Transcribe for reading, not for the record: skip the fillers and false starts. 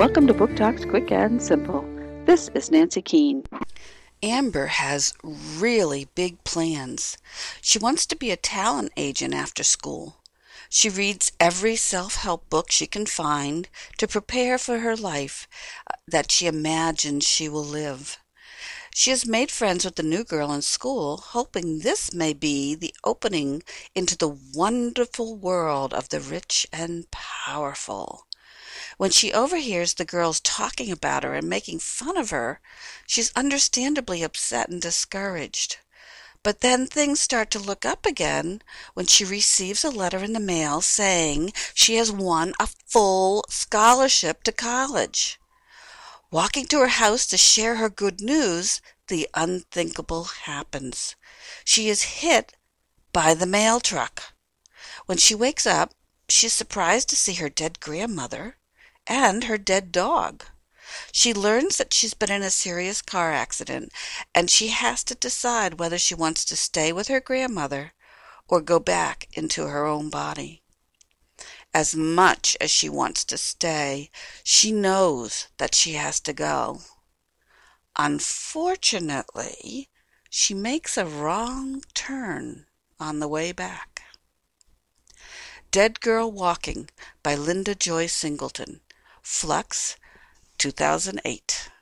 Welcome to Book Talks Quick and Simple. This is Nancy Keene. Amber has really big plans. She wants to be a talent agent after school. She reads every self-help book she can find to prepare for her life that she imagines she will live. She has made friends with the new girl in school, hoping this may be the opening into the wonderful world of the rich and powerful. When she overhears the girls talking about her and making fun of her, she's understandably upset and discouraged. But then things start to look up again when she receives a letter in the mail saying she has won a full scholarship to college. Walking to her house to share her good news, the unthinkable happens. She is hit by the mail truck. When she wakes up, she is surprised to see her dead grandmother and her dead dog. She learns that she's been in a serious car accident, and she has to decide whether she wants to stay with her grandmother or go back into her own body. As much as she wants to stay, she knows that she has to go. Unfortunately, she makes a wrong turn on the way back. Dead Girl Walking by Linda Joy Singleton. Flux, 2008.